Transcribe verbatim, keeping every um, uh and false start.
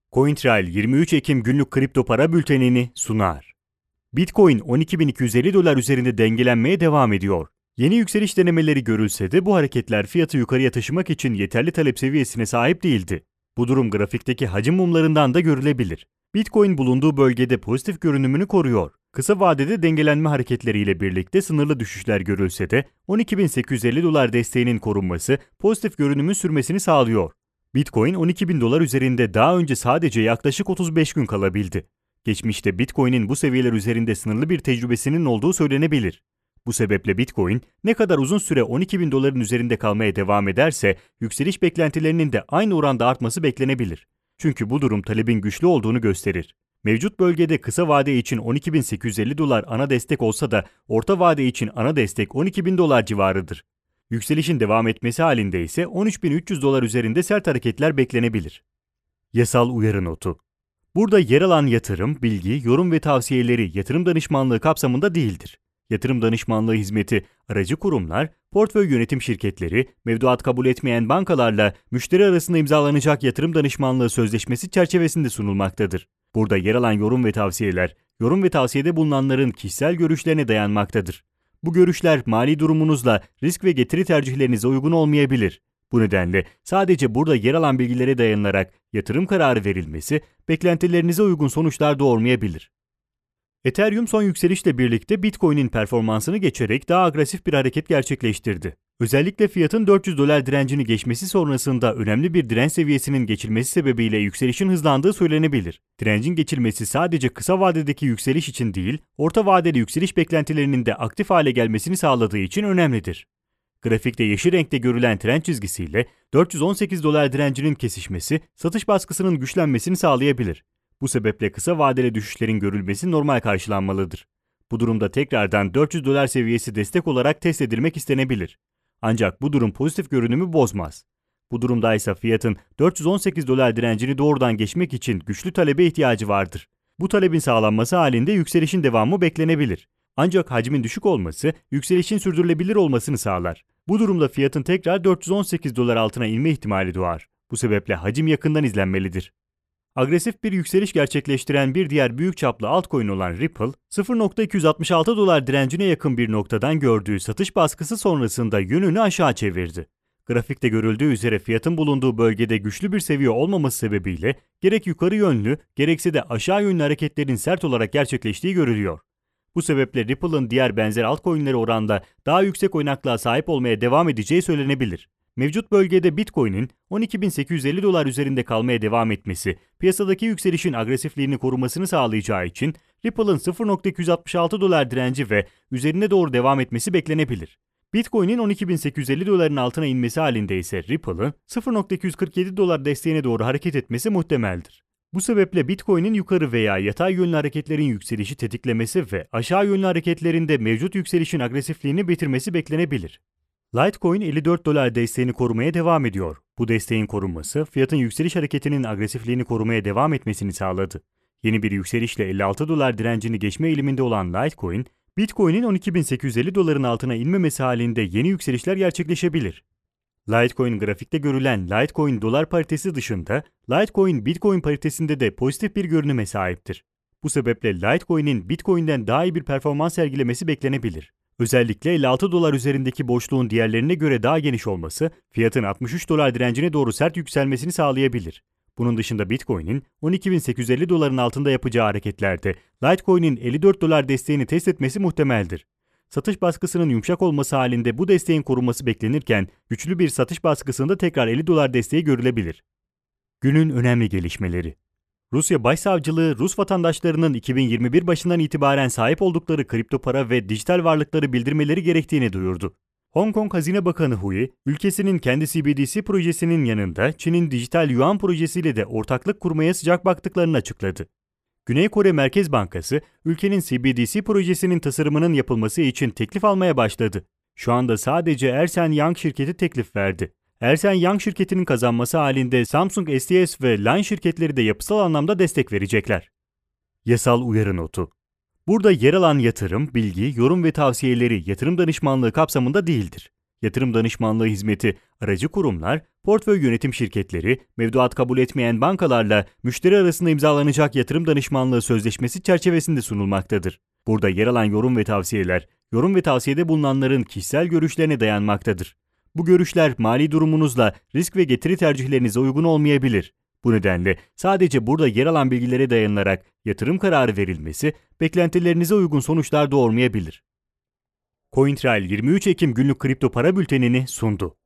CoinTrail yirmi üç Ekim günlük kripto para bültenini sunar. Bitcoin on iki bin iki yüz elli dolar üzerinde dengelenmeye devam ediyor. Yeni yükseliş denemeleri görülse de bu hareketler fiyatı yukarıya taşımak için yeterli talep seviyesine sahip değildi. Bu durum grafikteki hacim mumlarından da görülebilir. Bitcoin bulunduğu bölgede pozitif görünümünü koruyor. Kısa vadede dengelenme hareketleriyle birlikte sınırlı düşüşler görülse de on iki bin sekiz yüz elli dolar desteğinin korunması pozitif görünümün sürmesini sağlıyor. Bitcoin on iki bin dolar üzerinde daha önce sadece yaklaşık otuz beş gün kalabildi. Geçmişte Bitcoin'in bu seviyeler üzerinde sınırlı bir tecrübesinin olduğu söylenebilir. Bu sebeple Bitcoin ne kadar uzun süre on iki bin doların üzerinde kalmaya devam ederse yükseliş beklentilerinin de aynı oranda artması beklenebilir. Çünkü bu durum talebin güçlü olduğunu gösterir. Mevcut bölgede kısa vade için on iki bin sekiz yüz elli dolar ana destek olsa da orta vade için ana destek on iki bin dolar civarıdır. Yükselişin devam etmesi halinde ise on üç bin üç yüz dolar üzerinde sert hareketler beklenebilir. Yasal uyarı notu. Burada yer alan yatırım, bilgi, yorum ve tavsiyeleri yatırım danışmanlığı kapsamında değildir. Yatırım danışmanlığı hizmeti, aracı kurumlar, portföy yönetim şirketleri, mevduat kabul etmeyen bankalarla müşteri arasında imzalanacak yatırım danışmanlığı sözleşmesi çerçevesinde sunulmaktadır. Burada yer alan yorum ve tavsiyeler, yorum ve tavsiyede bulunanların kişisel görüşlerine dayanmaktadır. Bu görüşler mali durumunuzla risk ve getiri tercihlerinize uygun olmayabilir. Bu nedenle sadece burada yer alan bilgilere dayanılarak yatırım kararı verilmesi beklentilerinize uygun sonuçlar doğurmayabilir. Ethereum son yükselişle birlikte Bitcoin'in performansını geçerek daha agresif bir hareket gerçekleştirdi. Özellikle fiyatın dört yüz dolar direncini geçmesi sonrasında önemli bir direnç seviyesinin geçilmesi sebebiyle yükselişin hızlandığı söylenebilir. Direncin geçilmesi sadece kısa vadedeki yükseliş için değil, orta vadeli yükseliş beklentilerinin de aktif hale gelmesini sağladığı için önemlidir. Grafikte yeşil renkte görülen trend çizgisiyle dört yüz on sekiz dolar direncinin kesişmesi satış baskısının güçlenmesini sağlayabilir. Bu sebeple kısa vadeli düşüşlerin görülmesi normal karşılanmalıdır. Bu durumda tekrardan dört yüz dolar seviyesi destek olarak test edilmek istenebilir. Ancak bu durum pozitif görünümü bozmaz. Bu durumda ise fiyatın dört yüz on sekiz dolar direncini doğrudan geçmek için güçlü talebe ihtiyacı vardır. Bu talebin sağlanması halinde yükselişin devamı beklenebilir. Ancak hacmin düşük olması yükselişin sürdürülebilir olmasını sağlar. Bu durumda fiyatın tekrar dört yüz on sekiz dolar altına inme ihtimali doğar. Bu sebeple hacim yakından izlenmelidir. Agresif bir yükseliş gerçekleştiren bir diğer büyük çaplı altcoin olan Ripple, sıfır nokta iki yüz altmış altı dolar direncine yakın bir noktadan gördüğü satış baskısı sonrasında yönünü aşağı çevirdi. Grafikte görüldüğü üzere fiyatın bulunduğu bölgede güçlü bir seviye olmaması sebebiyle gerek yukarı yönlü gerekse de aşağı yönlü hareketlerin sert olarak gerçekleştiği görülüyor. Bu sebeple Ripple'ın diğer benzer altcoin'lere oranla daha yüksek oynaklığa sahip olmaya devam edeceği söylenebilir. Mevcut bölgede Bitcoin'in on iki bin sekiz yüz elli dolar üzerinde kalmaya devam etmesi, piyasadaki yükselişin agresifliğini korumasını sağlayacağı için Ripple'ın sıfır nokta iki yüz altmış altı dolar direnci ve üzerine doğru devam etmesi beklenebilir. Bitcoin'in on iki bin sekiz yüz elli doların altına inmesi halinde ise Ripple'ın sıfır nokta iki yüz kırk yedi dolar desteğine doğru hareket etmesi muhtemeldir. Bu sebeple Bitcoin'in yukarı veya yatay yönlü hareketlerin yükselişi tetiklemesi ve aşağı yönlü hareketlerinde mevcut yükselişin agresifliğini bitirmesi beklenebilir. Litecoin elli dört dolar desteğini korumaya devam ediyor. Bu desteğin korunması, fiyatın yükseliş hareketinin agresifliğini korumaya devam etmesini sağladı. Yeni bir yükselişle elli altı dolar direncini geçme eğiliminde olan Litecoin, Bitcoin'in on iki bin sekiz yüz elli doların altına inmemesi halinde yeni yükselişler gerçekleşebilir. Litecoin grafikte görülen Litecoin dolar paritesi dışında, Litecoin Bitcoin paritesinde de pozitif bir görünüme sahiptir. Bu sebeple Litecoin'in Bitcoin'den daha iyi bir performans sergilemesi beklenebilir. Özellikle elli altı dolar üzerindeki boşluğun diğerlerine göre daha geniş olması, fiyatın altmış üç dolar direncine doğru sert yükselmesini sağlayabilir. Bunun dışında Bitcoin'in on iki bin sekiz yüz elli doların altında yapacağı hareketlerde Litecoin'in elli dört dolar desteğini test etmesi muhtemeldir. Satış baskısının yumuşak olması halinde bu desteğin korunması beklenirken güçlü bir satış baskısında tekrar elli dolar desteği görülebilir. Günün önemli gelişmeleri. Rusya Başsavcılığı, Rus vatandaşlarının iki bin yirmi bir başından itibaren sahip oldukları kripto para ve dijital varlıkları bildirmeleri gerektiğini duyurdu. Hong Kong Hazine Bakanı Hui, ülkesinin kendi C B D C projesinin yanında Çin'in dijital yuan projesiyle de ortaklık kurmaya sıcak baktıklarını açıkladı. Güney Kore Merkez Bankası, ülkenin C B D C projesinin tasarımının yapılması için teklif almaya başladı. Şu anda sadece Ernst and Young şirketi teklif verdi. Ernst and Young şirketinin kazanması halinde Samsung S D S ve Line şirketleri de yapısal anlamda destek verecekler. Yasal uyarı notu. Burada yer alan yatırım, bilgi, yorum ve tavsiyeleri yatırım danışmanlığı kapsamında değildir. yatırım danışmanlığı hizmeti, aracı kurumlar, portföy yönetim şirketleri, mevduat kabul etmeyen bankalarla müşteri arasında imzalanacak yatırım danışmanlığı sözleşmesi çerçevesinde sunulmaktadır. Burada yer alan yorum ve tavsiyeler, yorum ve tavsiyede bulunanların kişisel görüşlerine dayanmaktadır. Bu görüşler mali durumunuzla risk ve getiri tercihlerinize uygun olmayabilir. Bu nedenle sadece burada yer alan bilgilere dayanılarak yatırım kararı verilmesi beklentilerinize uygun sonuçlar doğurmayabilir. CoinTrail yirmi üç Ekim günlük kripto para bültenini sundu.